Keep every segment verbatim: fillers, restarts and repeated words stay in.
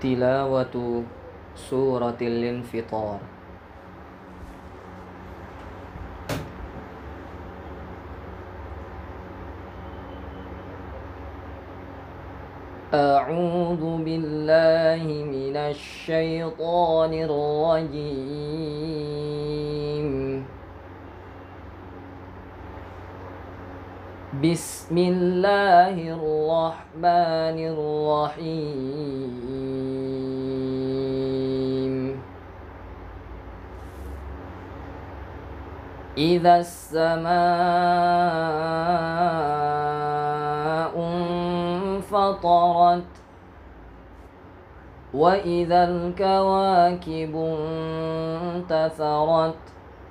Tilawatu suratil infitar. A'udzu billahi minasy syaithanir rajim. Bismillahirrahmanirrahim. Idza as-samaa'u fatarat wa idzal kawakibu intatharat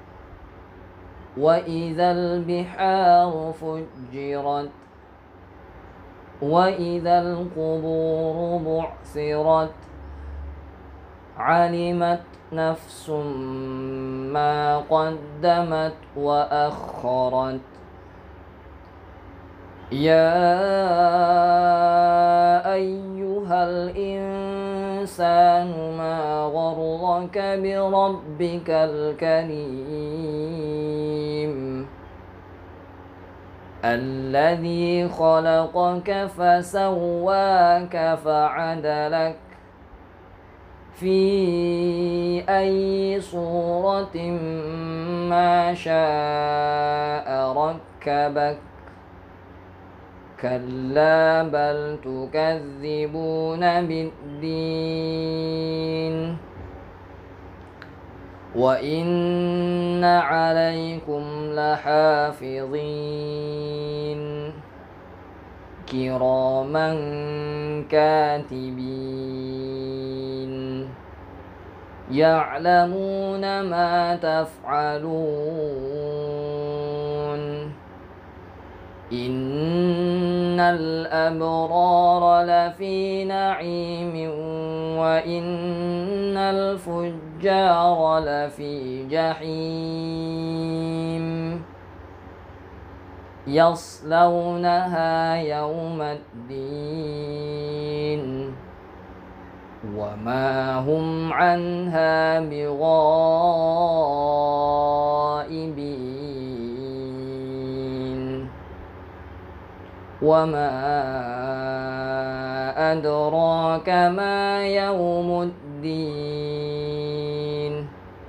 wa idzal biharu fujjirat wa idzal quburu bu'thirat alimat nafsum ma qaddamat wa akharat. Ya ayyuhal insanu ma gharraka bi rabbikal karim alladhi khalaqaka fasawwaka fa'adalak fi ayyi suratin ma syaa rakkabak. Kalla bal tukadzibuna biddin wa inna alaikum lahafizin kiraman katibin ya'lamuna ma taf'alun. Innal abrara lafi na'imin wa innal fujjara lafi jahim yaslawnaha yawmaddin wa ma hum anha bighaibin. Wa ma adraka ma yawmuddin.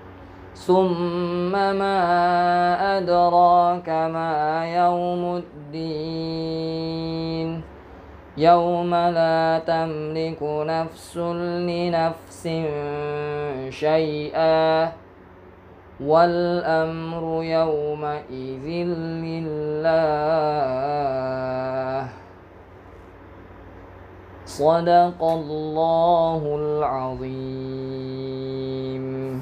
Summa ma adraka ma yawmuddin. Yawma la tamliku nafsun li nafsin syai'a wal amru yawma idzin lillah. Shadaqallahul azim.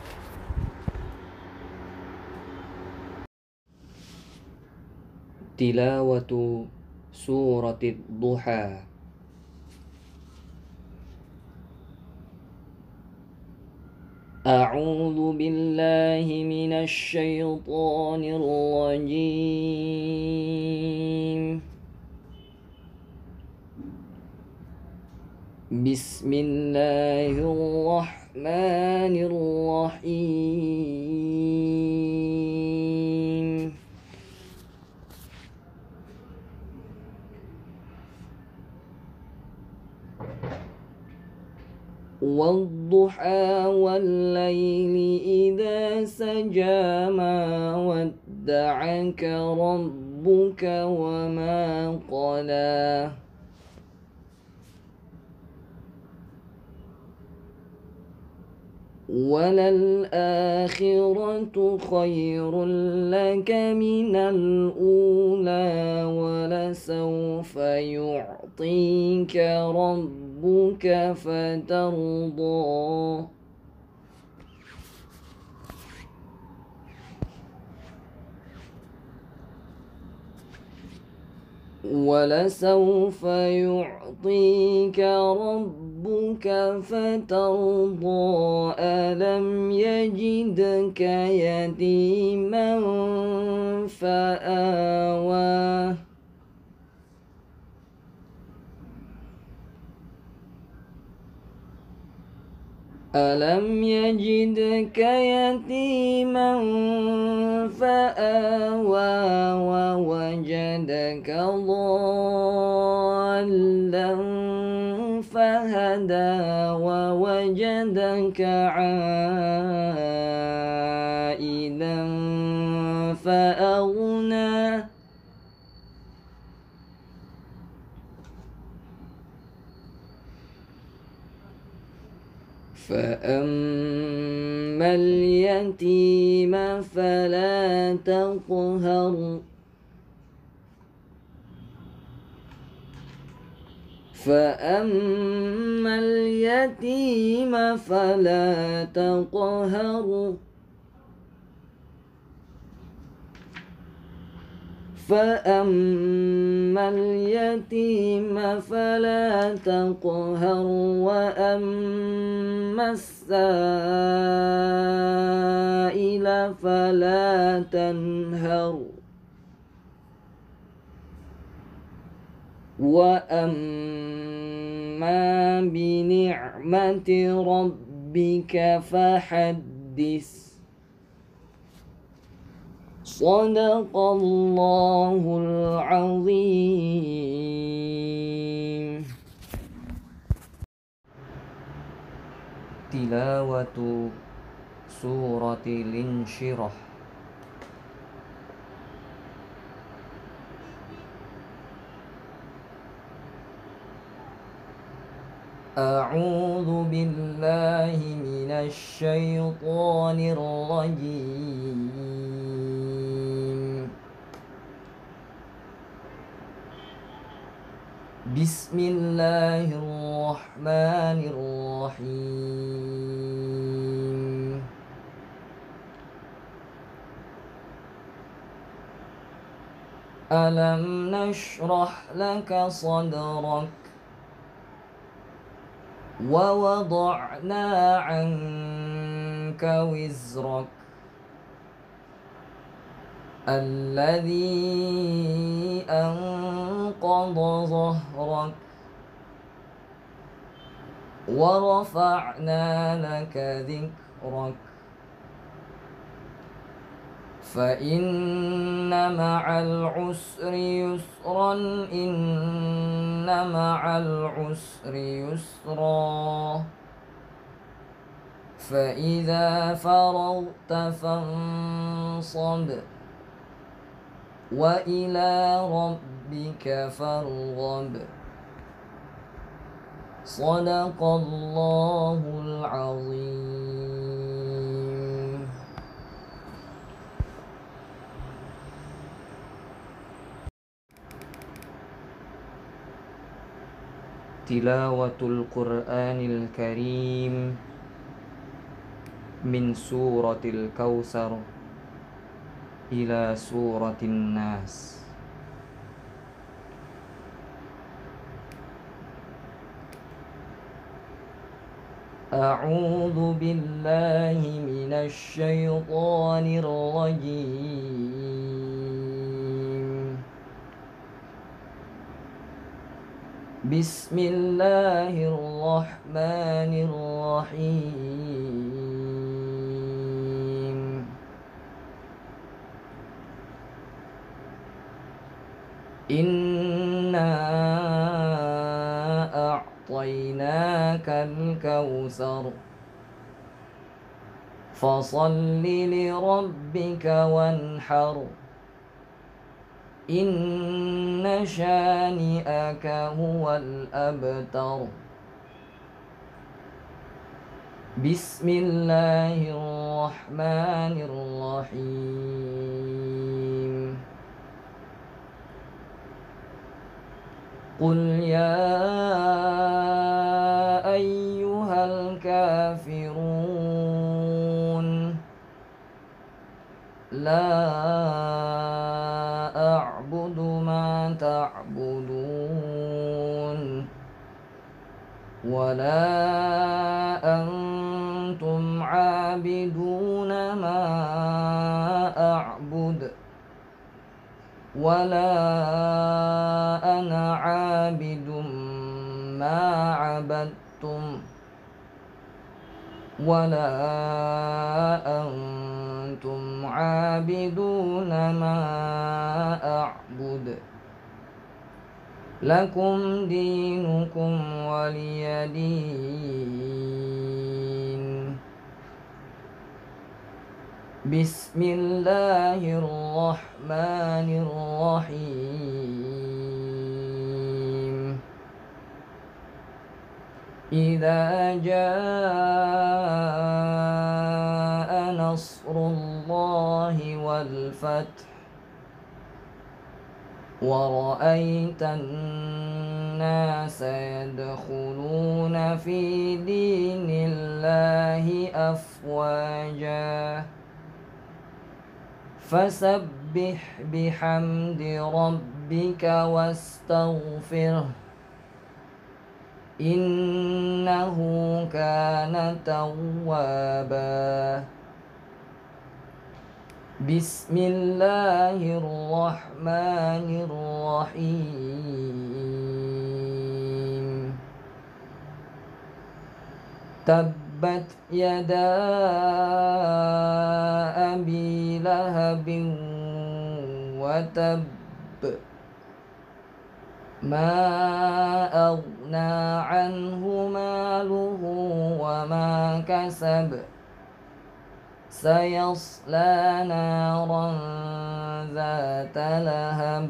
Tilawatu suratid duha. A'udzu billahi minasy syaithanir rajim. Bismillahirrahmanirrahim. Wadduha wallayli idza saja ma wadda'aka rabbuka wa ma qala. Walal akhiratu khairul laka minal ula walasawfa yu'tika rabbuka fatarda. وَلَسَوْفَ يُعْطِيكَ رَبُّكَ فَتَرْضَىٰ أَلَمْ يَجِدْكَ يَتِيمًا فَآوَىٰ ألم يجدك يتيما فآوى ووجدك ضالا فهدى ووجدك عائلا فأغنى فأما اليتيم فلا تقهر فأما اليتيم فلا تقهر فأما اليتيم فلا تقهر وأما السائل فلا تنهر وأما بنعمة ربك فحدث. صدق الله العظيم. تلاوة سورة الانشراح. أعوذ بالله من الشيطان الرجيم. بسم الله الرحمن الرحيم. ألم نشرح لك صدرك ووضعنا عنك وزرك الذي أنقض ظهرك ورفعنا لك ذكرك فإن مع العسر يسرا إن مع العسر يسرا فإذا فرغت فانصب وإلى ربك فارغب. صدق الله العظيم. تلاوة القرآن الكريم من سورة الكوثر إلى سورة الناس. أعوذ بالله من الشيطان الرجيم. بسم الله الرحمن الرحيم. إنا أعطيناك الكوثر فصل لربك وانحر إن شانئك هو الأبتر. بسم الله الرحمن الرحيم. قل يا أيها الكافرون لا أعبد ما تعبدون ولا أنتم عابدون ما أعبد ولا أنا عابد ما عبدتم ولا أنتم عابدون ما أعبد لكم دينكم ولي دين. بسم الله الرحمن الرحيم. إذا جاء نصر الله والفتح ورأيت الناس يدخلون في دين الله أفواجا فسبح بحمد ربك واستغفره إنه كان توابا. بسم الله الرحمن الرحيم. تبت يدا أبي لهب وتب ما أغنى عنه ماله وما كسب سيصلى نارا ذات لهب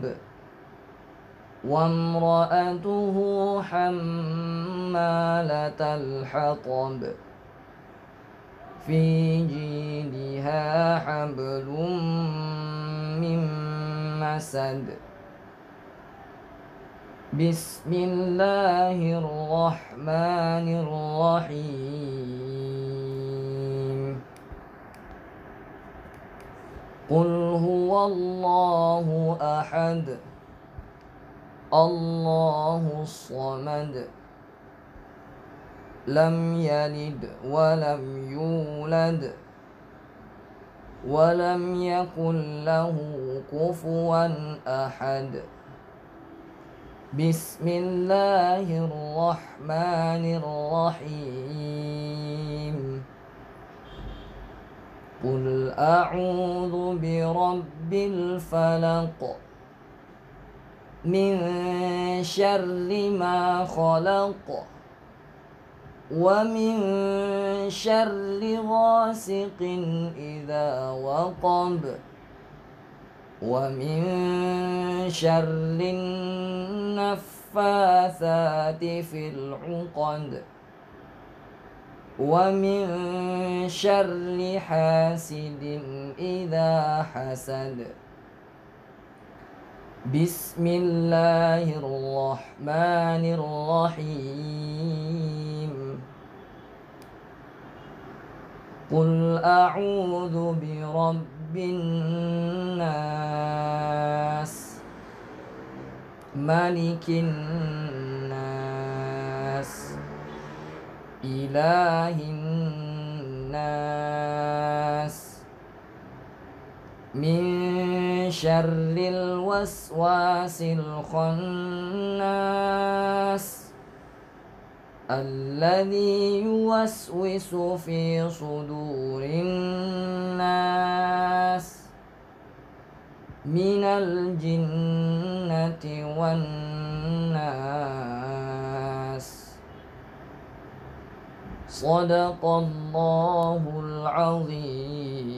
وامرأته حمالة الحطب في جيدها حبل من مسد. بسم الله الرحمن الرحيم. قل هو الله أحد الله الصمد لم يلد ولم يولد ولم يكن له كفوا أحد. بسم الله الرحمن الرحيم. قل أعوذ برب الفلق من شر ما خلق ومن شر غاسق إذا وقب ومن شر النفاثات في العقد ومن شر حاسد إذا حسد. بسم الله الرحمن الرحيم. قل أعوذ برب الناس ملك الناس إله الناس من شر الوسواس الخناس الذي يوسوس في صدور الناس من الجنة والناس. صدق الله العظيم.